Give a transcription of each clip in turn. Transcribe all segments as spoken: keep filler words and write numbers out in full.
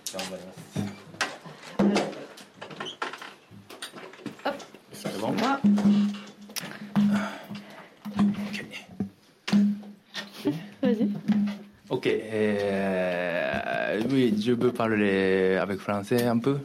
頑張ります。 Hop, C'est bon? moi. Vas-y. Ok. Euh, oui, je peux parler avec français un peu.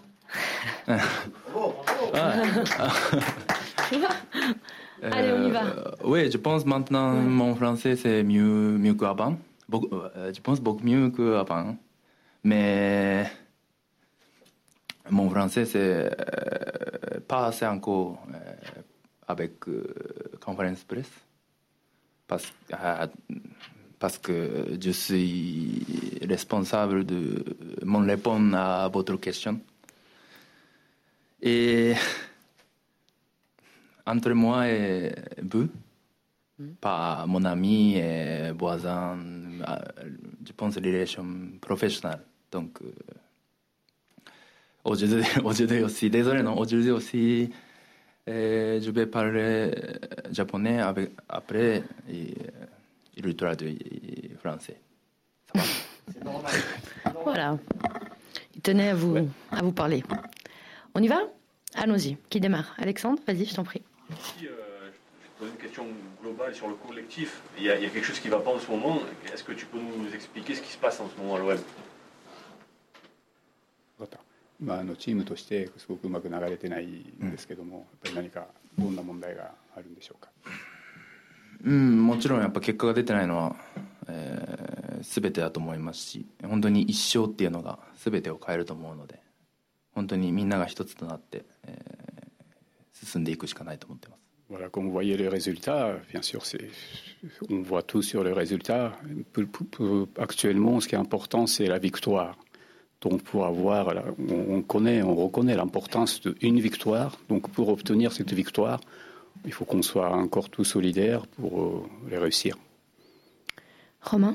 Allez, on y va. Euh, oui, je pense maintenant Ouais. mon français c'est mieux, mieux qu'avant. Beaucoup, euh, je pense beaucoup mieux qu'avant. Mais mon français c'est euh, pas assez encore euh, avec euh, conférence presse. Parce, euh, parce que je suis responsable de mon répondre à votre question. Et entre moi et vous, mm. pas mon ami et voisin, je pense relation professionnelle. Donc, euh, aujourd'hui, aujourd'hui aussi, désolé, non, aujourd'hui aussi, euh, je vais parler japonais avec, après et, il lui traduit français. Ça va? C'est normal. Voilà. Il tenait à vous, ouais. à vous parler. On y va? Allons-y. Qui démarre? Alexandre, vas-y, je t'en prie. Ici, euh, je te pose une question globale sur le collectif. Il y a, il y a quelque chose qui ne va pas en ce moment. Est-ce que tu peux nous expliquer ce qui se passe en ce moment à l'O M? まあ、あのチームとしてすごくうまく流れてないんですけども、やっぱり何かどんな問題があるんでしょうか。 うん、もちろんやっぱ結果が出てないのは、えー、全てだと思いますし、本当に一勝っていうのが全てを変えると思うので、本当にみんなが一つとなって、えー、進んでいくしかないと思っています。 Voilà, comme vous voyez les résultats, bien sûr, c'est, on voit tout sur les résultats. Actuellement, ce qui est important, c'est la victoire. Donc, pour avoir, on connaît, on reconnaît l'importance d'une victoire. Donc, pour obtenir cette victoire, il faut qu'on soit encore tous solidaires pour les réussir. Romain?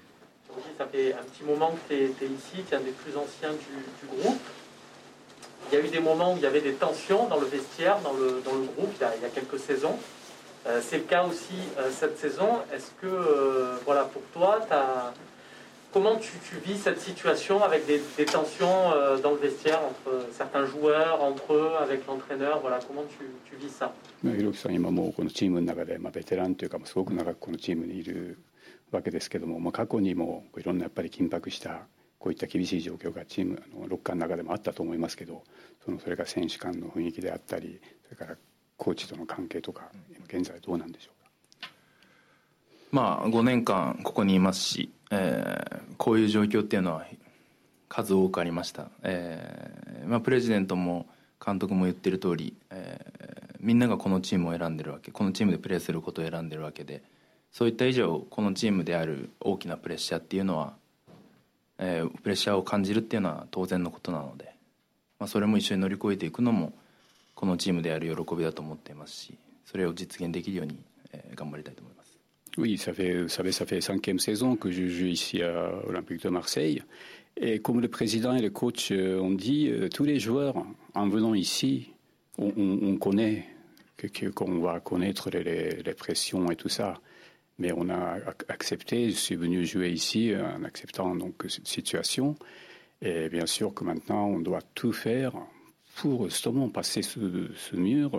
Ça fait un petit moment que tu es, es ici, tu es un des plus anciens du, du groupe. Il y a eu des moments où il y avait des tensions dans le vestiaire, dans le, dans le groupe, il y, a, il y a quelques saisons. Euh, c'est le cas aussi euh, cette saison. Est-ce que, euh, voilà, pour toi, t'as... comment tu, tu vis cette situation avec des, des tensions euh, dans le vestiaire entre certains joueurs, entre eux, avec l'entraîneur? Voilà, comment tu, tu vis ça? ひろきさん、今もうこのチームの中で、まあ、ベテランというか、すごく長くこのチームにいるわけですけども、まあ、過去にもいろんなやっぱり緊迫したこういった厳しい状況がチームのロッカーの中でもあったと思いますけど、そのそれから選手間の雰囲気であったり、それからコーチとの関係とか、現在どうなんでしょうか。 まあ、ごねんかんここにいますし、えー、こういう状況っていうのは数多くありました。えーまあ、プレジデントも監督も言ってる通り、えー、みんながこのチームを選んでるわけ、このチームでプレーすることを選んでるわけで、そういった以上このチームである大きなプレッシャーっていうのは、えー、プレッシャーを感じるっていうのは当然のことなので、まあ、それも一緒に乗り越えていくのもこのチームである喜びだと思っていますし、それを実現できるように、えー、頑張りたいと思います。 Oui, ça fait, vous savez, ça fait cinquième saison que je joue ici à Olympique de Marseille. Et comme le président et le coach ont dit, tous les joueurs, en venant ici, on, on, on connaît que, que, qu'on va connaître les, les pressions et tout ça. Mais on a accepté, je suis venu jouer ici en acceptant donc cette situation. Et bien sûr que maintenant, on doit tout faire pour justement passer ce, ce mur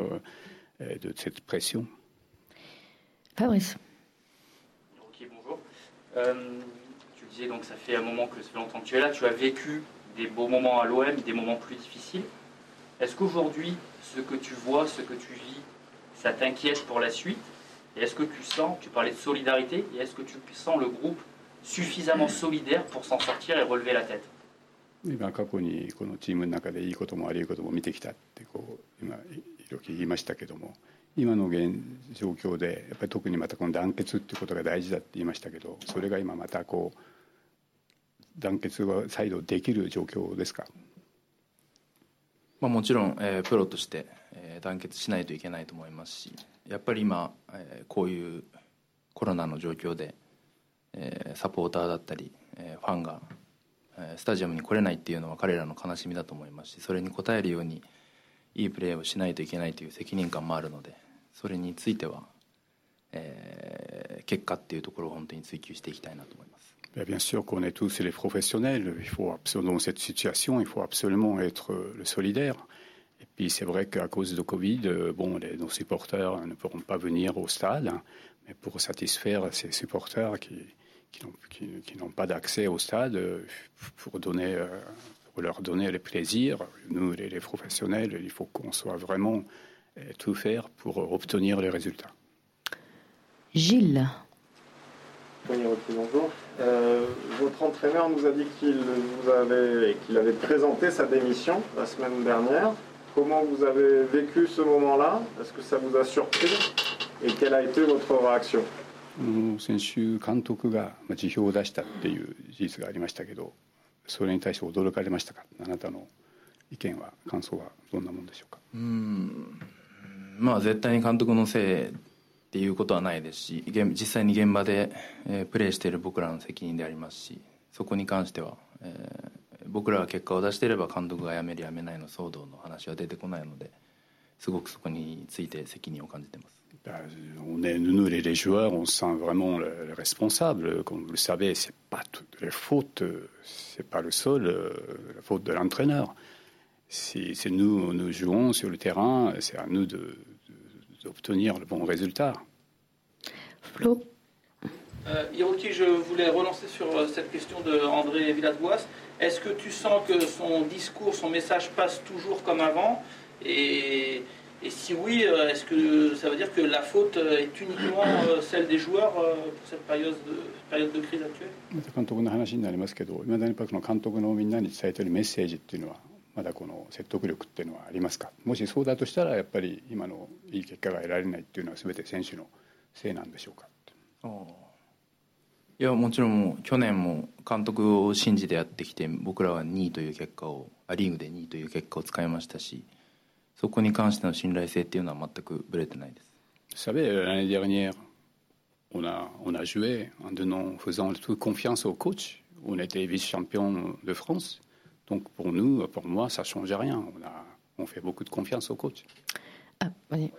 de cette pression. Fabrice. Ok, bonjour. Euh, tu disais donc ça fait un moment que ça fait longtemps que tu es là. Tu as vécu des beaux moments à l'O M, des moments plus difficiles. Est-ce qu'aujourd'hui, ce que tu vois, ce que tu vis, ça t'inquiète pour la suite? Et est-ce que tu sens, tu parlais de solidarité, et est-ce que tu sens le groupe suffisamment solidaire pour s'en sortir et relever la tête? 今過去にこのチームの中でいいことも悪いことも見てきたってこう今いろいろ言いましたけども、今の現状況でやっぱり特にまたこの団結っていうことが大事だって言いましたけど、それが今またこう団結が再度できる状況ですか？ まあ、もちろん、えー、プロとして、えー、団結しないといけないと思いますし、やっぱり今、えー、こういうコロナの状況で、えー、サポーターだったり、えー、ファンが、えー、スタジアムに来れないっていうのは彼らの悲しみだと思いますし、それに応えるようにいいプレーをしないといけないという責任感もあるので、それについては、えー、結果っていうところを本当に追求していきたいなと思います。 Bien sûr qu'on est tous les professionnels. Il faut absolument, dans cette situation, il faut absolument être le solidaire. Et puis c'est vrai qu'à cause de Covid, bon, les, nos supporters ne pourront pas venir au stade, hein, mais pour satisfaire ces supporters qui, qui, n'ont, qui, qui n'ont pas d'accès au stade, pour, donner, pour leur donner le plaisir, nous les, les professionnels, il faut qu'on soit vraiment tout faire pour obtenir les résultats. Gilles. Bonjour. Euh, votre entraîneur nous a dit qu'il vous avait, qu'il avait présenté sa démission la semaine dernière. Comment vous avez vécu ce moment-là? Est-ce que ça vous a surpris? Et quelle a été votre réaction? 先週監督が辞表を出したっていう事実がありましたけど、それに対して驚かれましたか？あなたの意見は感想はどんなものでしょうか？ うーん、まあ絶対に監督のせいっていうことはないですし、実際に現場で、えー、プレーしている僕らの責任でありますし、そこに関しては、えー、僕らが結果を出していれば監督が辞める辞めないの騒動の話は出てこないので、すごくそこについて責任を感じています。 On est, nous, les, les joueurs, on se sent vraiment le, le responsable. Comme vous le savez, c'est pas toutes les fautes, c'est pas le seul, la faute de l'entraîneur. C'est, c'est nous, nous jouons sur le terrain, c'est à nous de, de, d'obtenir le bon résultat. Flo. Euh, Hiroki, je voulais relancer sur cette question de André Villas-Boas. Est-ce que tu sens que son discours, son message passe toujours comme avant? Et Et si oui, est-ce que ça veut dire que la faute est uniquement celle des joueurs pour cette période de, période de crise actuelle? 監督の話になりますけど、いまだにこの監督のみんなに伝えているメッセージっていうのはまだこの説得力っていうのはありますか？もしそうだとしたらやっぱり今のいい結果が得られないっていうのは全て選手のせいなんでしょうか？ ああ、いやもちろんもう去年も監督を信じてやってきて、僕らはにいという結果をリーグでにいという結果をつかみましたし、そこに関しての信頼性っていうのは全くぶれてないです。 Vous savez, l'année dernière, on a, on a joué en donnant, faisant toute confiance au coach. On était vice-champion de France. Donc pour nous, pour moi, ça ne change rien. On, a, on fait beaucoup de confiance au coach. Ah, oui.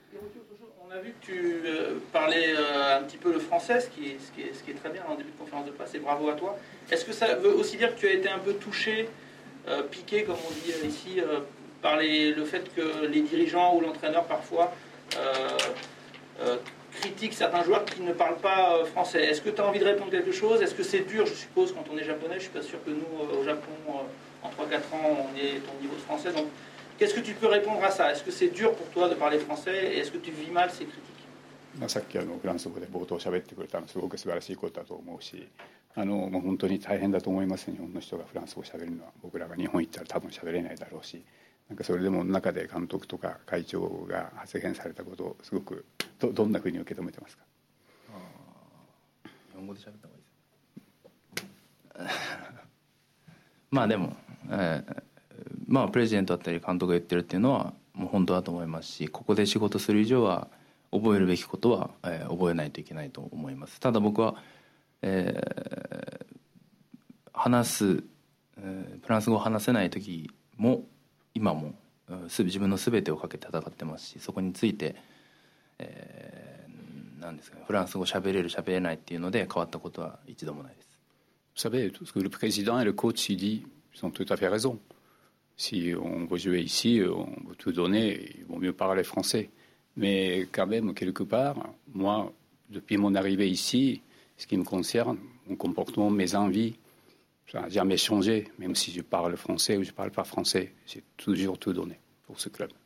On a vu que tu euh, parlais euh, un petit peu le français, ce qui, est, ce, qui est, ce qui est très bien en début de conférence de presse, et bravo à toi. Est-ce que ça veut aussi dire que tu as été un peu touché, euh, piqué, comme on dit ici, euh, par les, le fait que les dirigeants ou l'entraîneur parfois euh, euh, critiquent certains joueurs qui ne parlent pas euh, français? Est-ce que tu as envie de répondre quelque chose? Est-ce que c'est dur, je suppose, quand on est japonais? Je suis pas sûr que nous, euh, au Japon, euh, en trois quatre ans, on ait ton niveau de français. Donc, qu'est-ce que tu peux répondre à ça? Est-ce que c'est dur pour toi de parler français? Et est-ce que tu vis mal ces critiques? さっきあのフランス語で冒頭喋ってくれたのすごく素晴らしいことだと思うし、あのもう本当に大変だと思います。日本の人がフランス語喋るのは僕らが日本行ったら多分喋れないだろうし、なんかそれでも中で監督とか会長が発言されたことをすごく ど, どんなふうに受け止めてますか？ あ、日本語で喋った方がいいですまあでも、えー、まあプレジデントだったり監督が言ってるっていうのはもう本当だと思いますし、ここで仕事する以上は覚えるべきことは、えー、覚えないといけないと思います。ただ僕は、えー、話す、えー、フランス語を話せない時も今も自分の全てをかけて戦ってますし、そこについて、えー、なんですかね、フランス語喋れる喋れないっていうので変わったことは一度もないです。 Vous savez, ce que le président et le coach il dit, ils ont tout à fait raison. Si on veut jouer ici, on veut tout donner, il vaut mieux parler français. Mais quand même, quelque part, moi, depuis mon arrivée ici, ce qui me concerne, mon comportement, mes envies, ça n'a jamais changé, même si je parle français ou je ne parle pas français. J'ai toujours tout donné pour ce club.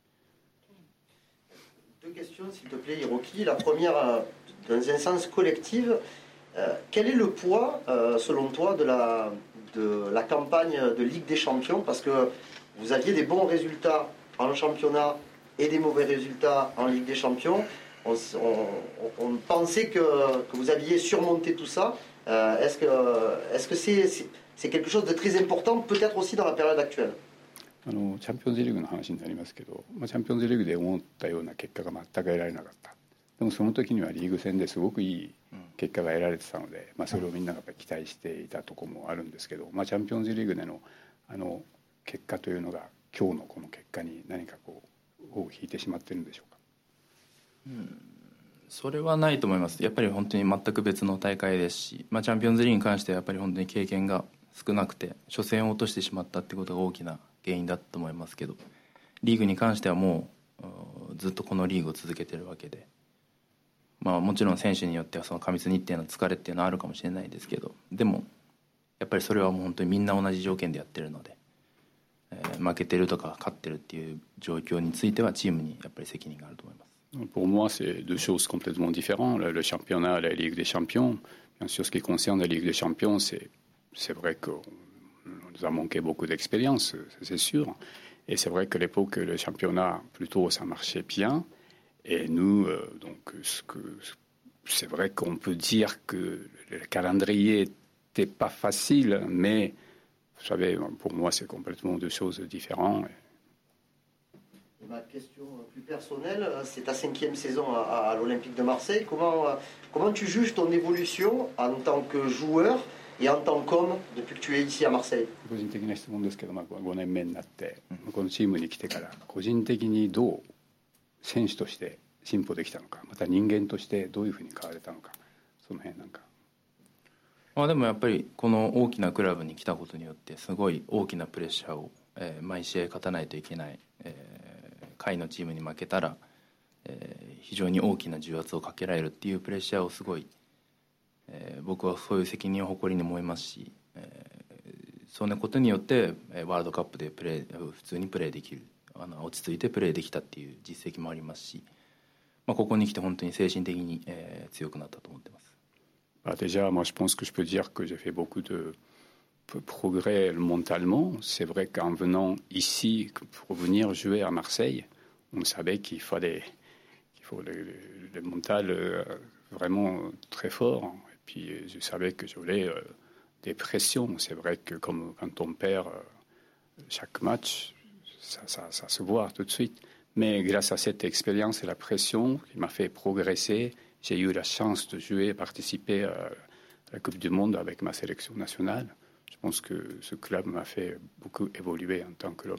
Deux questions, s'il te plaît, Hiroki. La première, dans un sens collectif, euh, quel est le poids, euh, selon toi, de la, de la campagne de Ligue des Champions? Parce que vous aviez des bons résultats en championnat et des mauvais résultats en Ligue des Champions. On, on, on pensait que, que vous aviez surmonté tout ça. Euh, est-ce que, est-ce que c'est, c'est, c'est quelque chose de très important, peut-être aussi dans la période actuelle? あのチャンピオンズリーグの話になりますけど、まあ、チャンピオンズリーグで思ったような結果が全く得られなかった。でもその時にはリーグ戦ですごくいい結果が得られてたので、まあ、それをみんながやっぱり期待していたところもあるんですけど、まあ、チャンピオンズリーグでのあの結果というのが今日のこの結果に何かこう尾を引いてしまっているんでしょうか？ うん、 それはないと思います。やっぱり本当に全く別の大会ですし、まあ、チャンピオンズリーグに関してはやっぱり本当に経験が少なくて初戦を落としてしまったってことが大きな原因だと思いますけど、リーグに関してはもうずっとこのリーグを続けてるわけで、まあ、もちろん選手によってはその過密日程の疲れっていうのはあるかもしれないですけど、でもやっぱりそれはもう本当にみんな同じ条件でやってるので、えー、負けてるとか勝ってるっていう状況についてはチームにやっぱり責任があると思います。 Pour moi, c'est deux choses complètement différentes. Le championnat, la Ligue des Champions. Bien sûr, ce qui concerne la Ligue des Champions, c'est, c'est vrai qu'on nous a manqué beaucoup d'expérience, c'est sûr. Et c'est vrai qu'à l'époque, le championnat, plutôt, ça marchait bien. Et nous, euh, donc, ce que, c'est vrai qu'on peut dire que le calendrier n'était pas facile, mais vous savez, pour moi, c'est complètement deux choses différentes. Et ma question plus personnelle, c'est ta cinquième saison à, à l'Olympique de Marseille. Comment, comment tu juges ton évolution en tant que joueur et en tant qu'homme depuis que tu es ici à Marseille? 個人的な質問ですけど、まあ、ごねんめになってこのチームに来てから個人的にどう選手として進歩できたのか、また人間としてどういうふうに変われたのか、その辺なんか。 まあ、でもやっぱりこの大きなクラブに来たことによってすごい大きなプレッシャーを、えー、毎試合勝たないといけない、えー下位のチームに負けたら、えー、非常に大きな重圧をかけられるっていうプレッシャーをすごい、えー、僕はそういう責任を誇りに思いますし、えー、そのことによってワールドカップでプレー普通にプレーできる、あの落ち着いてプレーできたっていう実績もありますし、まあ、ここに来て本当に精神的に、えー、強くなったと思ってます。 Déjà, moi je pense que je peux dire que j'ai fait beaucoup de progrès mentalement. C'est vrai qu'en venant ici pour venir jouer à Marseille, on savait qu'il fallait qu'il faut le, le, le mental euh, vraiment très fort. Et puis je savais que j'aurais euh, des pressions. C'est vrai que comme quand on perd euh, chaque match, ça, ça, ça se voit tout de suite. Mais grâce à cette expérience et la pression qui m'a fait progresser, j'ai eu la chance de jouer et participer à la Coupe du Monde avec ma sélection nationale. Je pense que ce club m'a fait beaucoup évoluer en tant que l'homme.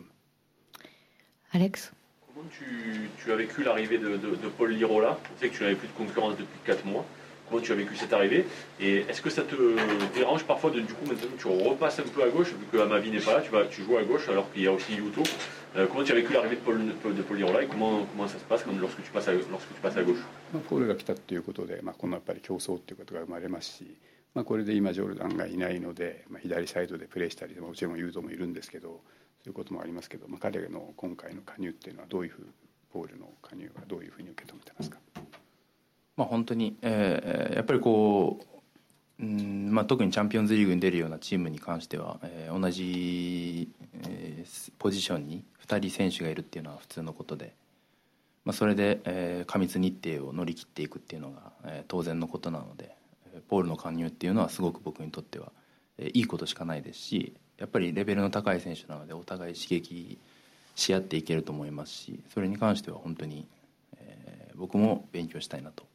Alex? Comment tu, tu as vécu l'arrivée de, de, de Paul Lirola? On sait que tu n'avais plus de concurrence depuis quatre mois. Comment tu as vécu cette arrivée? Et est-ce que ça te dérange parfois de, du coup, maintenant tu repasses un peu à gauche, vu que Amavi n'est pas là, tu, vas, tu joues à gauche alors qu'il y a aussi Yuto. Euh, comment tu as vécu l'arrivée de Paul, de Paul Lirola et comment, comment ça se passe quand, lorsque, tu passes à, lorsque tu passes à gauche? ポールが来たということで、まあ、このやっぱり競争ということが生まれますし、まあ、これで今ジョルダンがいないので、まあ、左サイドでプレーしたり、もちろんユートもいるんですけど、そういうこともありますけど、まあ、彼の今回の加入っていうのはどういうふう、ポールの加入はどういうふうに受け止めてますか？ まあ、本当に、えー、やっぱりこう、うんまあ、特にチャンピオンズリーグに出るようなチームに関しては、えー、同じ、えー、ポジションにふたり選手がいるっていうのは普通のことで、まあ、それで、えー、過密日程を乗り切っていくっていうのが、えー、当然のことなので、ポールの加入っていうのはすごく僕にとっては、えー、いいことしかないですし、やっぱりレベルの高い選手なのでお互い刺激し合っていけると思いますし、それに関しては本当に、えー、僕も勉強したいなと。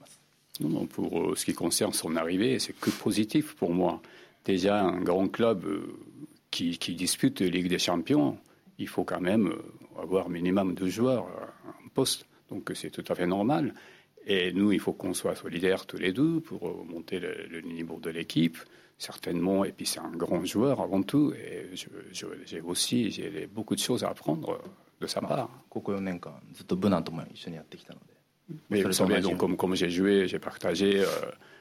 Non, pour ce qui concerne son arrivée, c'est que positif pour moi. Déjà, un grand club qui, qui dispute la Ligue des Champions, il faut quand même avoir minimum deux joueurs en poste. Donc c'est tout à fait normal. Et nous, il faut qu'on soit solidaires tous les deux pour monter le, le niveau de l'équipe, certainement. Et puis c'est un grand joueur avant tout. Et je, je, j'ai aussi j'ai beaucoup de choses à apprendre de sa part. ここよねんかんずっとブナとも一緒にやってきたので。 Mais vous savez, donc, comme, comme j'ai joué, j'ai partagé, euh,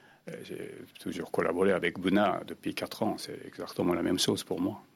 j'ai toujours collaboré avec Buna depuis quatre ans. C'est exactement la même chose pour moi.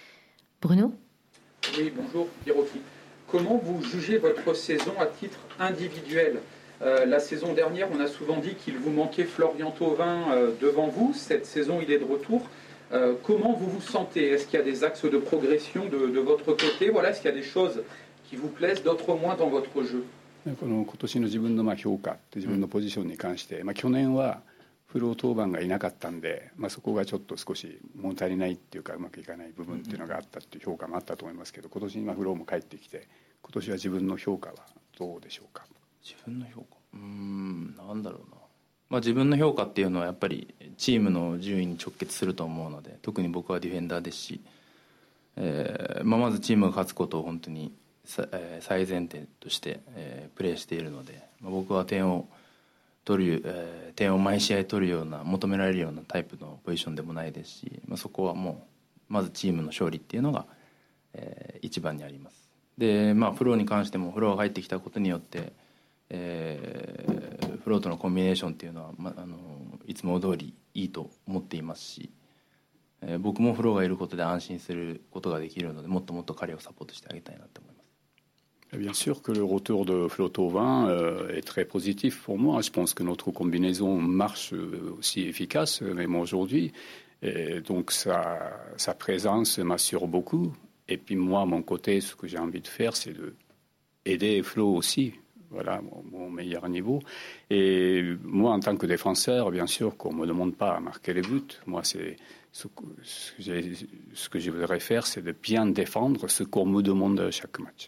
Bruno? Oui, bonjour, Hiroki. Comment vous jugez votre saison à titre individuel? euh, La saison dernière, on a souvent dit qu'il vous manquait Florian Thauvin euh, devant vous. Cette saison, il est de retour. Euh, comment vous vous sentez? Est-ce qu'il y a des axes de progression de, de votre côté? Voilà, est-ce qu'il y a des choses qui vous plaisent, d'autres moins dans votre jeu? この今年の自分のまあ評価って自分のポジションに関して、まあ、去年はフル登板がいなかったんで、まあ、そこがちょっと少し物足りないっていうかうまくいかない部分っていうのがあったっていう評価もあったと思いますけど、今年にフローも帰ってきて今年は自分の評価はどうでしょうか？ 自分の評価うーんなんだろうな、まあ、自分の評価っていうのはやっぱりチームの順位に直結すると思うので、特に僕はディフェンダーですし、えーまあ、まずチームが勝つことを本当に最前提としてプレーしているので、僕は点を取る、えー、点を毎試合取るような求められるようなタイプのポジションでもないですし、まあ、そこはもうまずチームの勝利っていうのが、えー、一番にあります。で、まあ、フローに関してもフローが入ってきたことによって、えー、フローとのコンビネーションっていうのは、まあ、あのいつも通りいいと思っていますし、えー、僕もフローがいることで安心することができるので、もっともっと彼をサポートしてあげたいなと思います。 Bien sûr que le retour de Flo Thauvin euh, est très positif pour moi. Je pense que notre combinaison marche aussi efficace, même aujourd'hui. Et donc sa, sa présence m'assure beaucoup. Et puis moi, à mon côté, ce que j'ai envie de faire, c'est de aider Flo aussi. Voilà, mon, mon meilleur niveau. Et moi, en tant que défenseur, bien sûr qu'on ne me demande pas à marquer les buts. Moi, c'est ce que, ce que, j'ai, ce que je voudrais faire, c'est de bien défendre ce qu'on me demande à chaque match.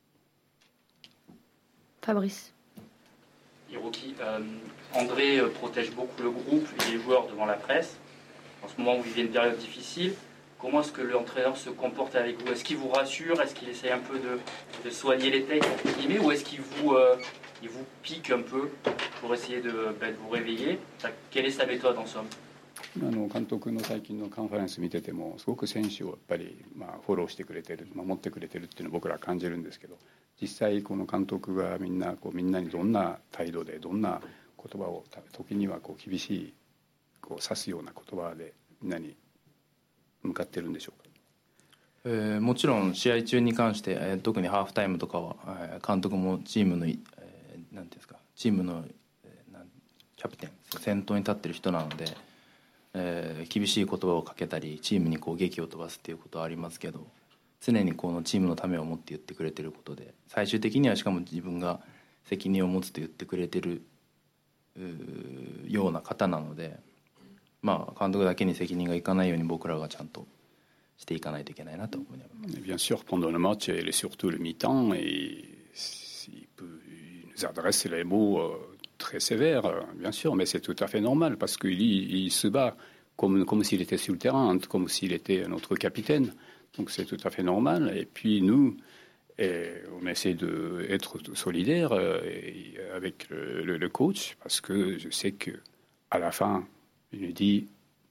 Fabrice. Hiroki, euh, André euh, protège beaucoup le groupe et les joueurs devant la presse. En ce moment, vous vivez une période difficile. Comment est-ce que l'entraîneur se comporte avec vous? Est-ce qu'il vous rassure? Est-ce qu'il essaye un peu de, de soigner les têtes, entre guillemets, ou est-ce qu'il vous, euh, il vous pique un peu pour essayer de, ben, de vous réveiller? Quelle est sa méthode en somme? あの監督の最近のカンファレンス見ててもすごく選手をやっぱりまあフォローしてくれてる、守ってくれてるっていうのを僕らは感じるんですけど、実際この監督がみんなこうみんなにどんな態度でどんな言葉を時にはこう厳しいこう指すような言葉でみんなに向かってるんでしょうか。 えー、もちろん試合中に関して、えー、特にハーフタイムとかは、えー、監督もチームの、えー、なんていうんですか、チームの、えー、なんキャプテン先頭に立ってる人なので、えー、厳しい言葉をかけたりチームにこう檄を飛ばすっていうことはありますけど、常にこのチームのためを思って言ってくれてることで、最終的にはしかも自分が責任を持つと言ってくれてるような方なので、まあ監督だけに責任がいかないように僕らがちゃんとしていかないといけないなと思います。 Bien sûr, pendant le match et surtout le mi-temps, et il, peut, il nous adresse les mots très sévères, bien sûr, mais c'est tout à fait normal parce qu'il il se bat comme, comme s'il était sur le terrain, comme s'il était notre capitaine. Donc c'est tout à fait normal. Et puis nous, et on essaie d'être solidaires avec le, le, le coach parce que je sais qu'à la fin, il nous dit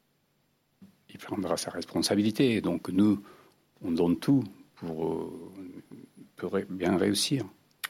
il prendra sa responsabilité. Donc nous, on donne tout pour, pour bien réussir.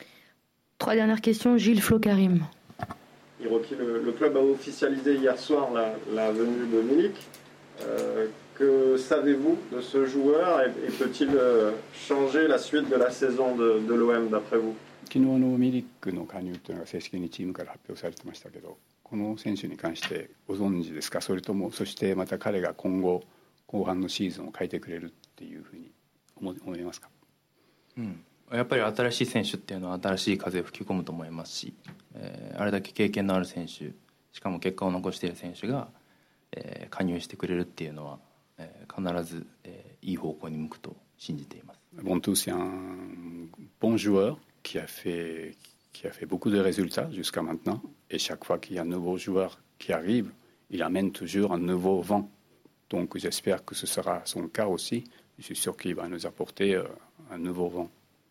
Trois dernières questions. Gilles Flo Karim. Hiroki, le, le club a officialisé hier soir la, la venue de Milik. Euh, que savez-vous de ce joueur et, et peut-il euh, changer la suite de la saison de, de l'O M d'après vous? 昨日のミリックの加入というのが正式にチームから発表されてましたけど、この選手に関してご存知ですか？それともそしてまた彼が今後後半のシーズンを変えてくれるっていうふうに思いますか？ うん、やっぱり新しい選手っていうのは新しい風を吹き込むと思いますし、えー、あれだけ経験のある選手、しかも結果を残している選手が、えー、加入してくれるっていうのは、えー、必ず、えー、いい方向に向くと信じています。 Bontou, c'est un bon joueur qui a fait qui a fait beaucoup de résultats jusqu'à maintenant. Et chaque fois qu'il y a un nouveau joueur qui arrive, il amène toujours un nouveau vent. Donc j'espère que ce sera son cas aussi. Je suis sûr qu'il va nous apporter euh, un nouveau vent.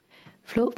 Flo?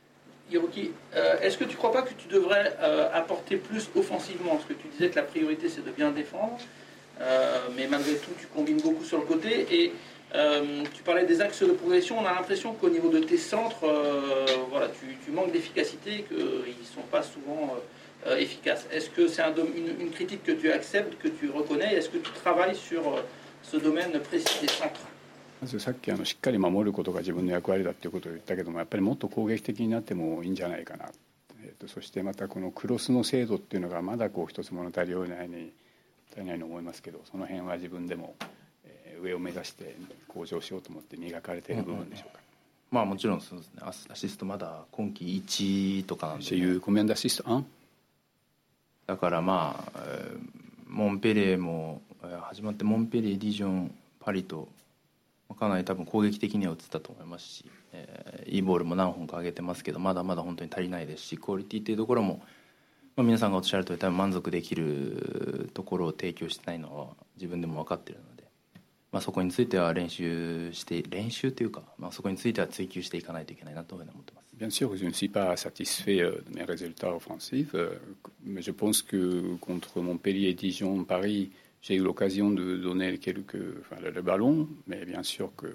Hiroki, euh, est-ce que tu ne crois pas que tu devrais euh, apporter plus offensivement? Parce que tu disais que la priorité c'est de bien défendre, euh, mais malgré tout tu combines beaucoup sur le côté. Et euh, tu parlais des axes de progression. On a l'impression qu'au niveau de tes centres, euh, voilà, tu, tu manques d'efficacité, qu'ils ne sont pas souvent euh, efficaces. Est-ce que c'est un une, une critique que tu acceptes, que tu reconnais? Est-ce que tu travailles sur euh, ce domaine précis des centres? まずさっきあのしっかり守ることが自分の役割だということを言ったけども、やっぱりもっと攻撃的になってもいいんじゃないかな、えー、とそしてまたこのクロスの精度っていうのがまだこう一つ物足りないに足りないと思いますけど、その辺は自分でも、えー、上を目指して向上しようと思って磨かれている部分でしょうか。 まあもちろんそうですね。アシストまだ今季いちとかなんで、ね、 J'ai eu combien d'assists? un? だからまあ、えー、モンペレーも、えー、始まってモンペレー、ディジョン、パリとかなり多分攻撃的には映ったと思いますし、えー、いいボールも何本か上げてますけど、まだまだ本当に足りないですし、クオリティっていうところも、まあ、皆さんがおっしゃるとおり多分満足できるところを提供してないのは自分でも分かっているので、ままあ、そこについては練習して練習というか、まあ、そこについては追求していかないといけないなというふうに思ってます。 Bien sûr, je ne suis pas satisfait de mes résultats offensifs, mais je pense que contre Montpellier, Dijon, Paris, j'ai eu l'occasion de donner quelques, enfin, le, le ballon, mais bien sûr que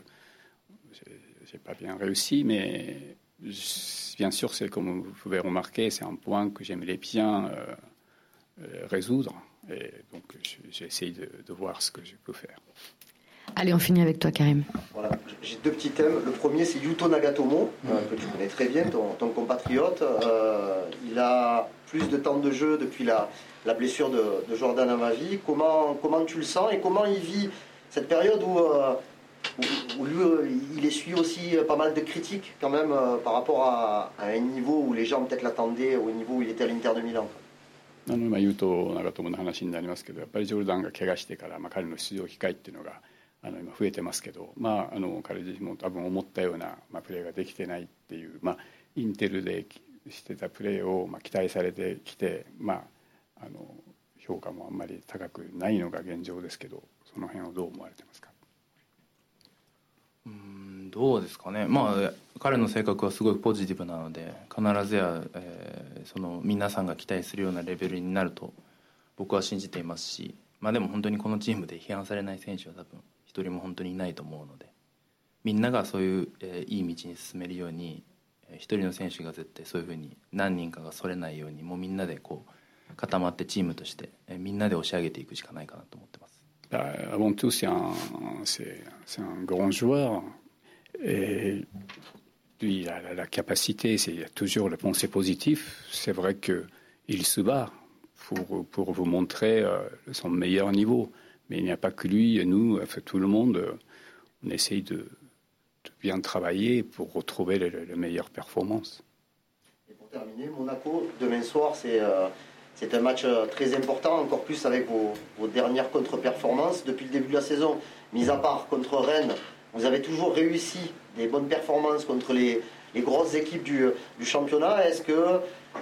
j'ai pas bien réussi, mais bien sûr, c'est comme vous pouvez remarquer, c'est un point que j'aimerais bien euh, résoudre, et donc j'essaie de, de voir ce que je peux faire. Allez, on finit avec toi, Karim. Voilà, j'ai deux petits thèmes. Le premier, c'est Yuto Nagatomo, mmh. euh, que tu connais très bien, ton, ton compatriote. Euh, il a plus de temps de jeu depuis la, la blessure de, de Jordan Amavi. Comment, comment tu le sens et comment il vit cette période où, euh, où, où lui, euh, il essuie aussi pas mal de critiques quand même euh, par rapport à, à un niveau où les gens peut-être l'attendaient, au niveau où il était à l'Inter de Milan. あの今ユート長友の話になりますけど、やっぱりジョルダンが怪我してから、まあ、彼の出場機会っていうのがあの今増えてますけど、まあ、あの彼自身も多分思ったような、まあ、プレーができてないっていう、まあ、インテルでしてたプレーを、まあ、期待されてきて、まあ、あの評価もあんまり高くないのが現状ですけど、その辺をどう思われてますか？ うーんどうですかね、まあ、彼の性格はすごいポジティブなので必ずや、えー、その皆さんが期待するようなレベルになると僕は信じていますし、まあ、でも本当にこのチームで批判されない選手は多分一人も本当にいないと思うので、みんながそういう、えー、いい道に進めるように、えー、一人の選手が絶対そういうふうに何人かがそれないようにもうみんなでこう固まってチームとして、えー、みんなで押し上げていくしかないかなと思ってます。 Avant tout, c'est un, c'est, c'est un grand joueur et lui, il a la, la capacité, c'est, il a toujours le pensée positif. C'est vrai qu'il se bat pour, pour vous montrer euh, son meilleur niveau. Mais il n'y a pas que lui, nous, enfin, tout le monde, on essaye de, de bien travailler pour retrouver les, les meilleures performances. Et pour terminer, Monaco, demain soir, c'est... Euh... C'est un match très important, encore plus avec vos, vos dernières contre-performances. Depuis le début de la saison, mis à part contre Rennes, vous avez toujours réussi des bonnes performances contre les, les grosses équipes du, du championnat. Est-ce que,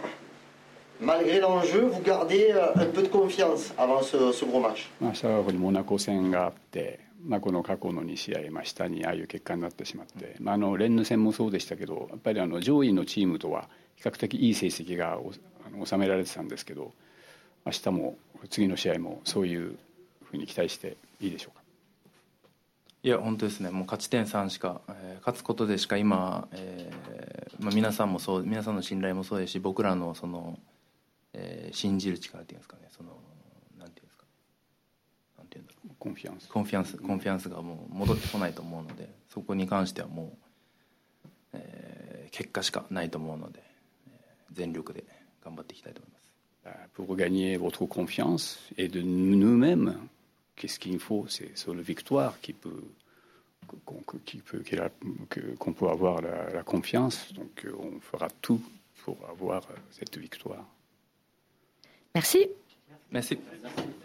malgré l'enjeu, vous gardez un peu de confiance avant ce, ce gros match? 明日はモナコ戦があって、まあ、この過去のに試合、まあ、下にああいう結果になってしまって、まあ、あのレンヌ戦もそうでしたけど、やっぱりあの上位のチームとは比較的いい成績が収められてたんですけど、明日も次の試合もそういうふうに期待していいでしょうか？ いや本当ですね、もう勝ち点さんしか、えー、勝つことでしか今、えーまあ、皆さんもそう、皆さんの信頼もそうですし、僕らのその、えー、信じる力っていうんですかね、そのなんていうんですか、なんていうんだろう、 コンフィアンス、 コンフィアンス、コンフィアンスがもう戻ってこないと思うので、そこに関してはもう、えー、結果しかないと思うので、えー、全力で頑張っていきたいと思います。 Pour gagner votre confiance et de nous-mêmes, qu'est-ce qu'il faut? C'est sur la victoire qui peut, qu'on, qui peut, qu'on peut avoir la, la confiance. Donc on fera tout pour avoir cette victoire. Merci. Merci.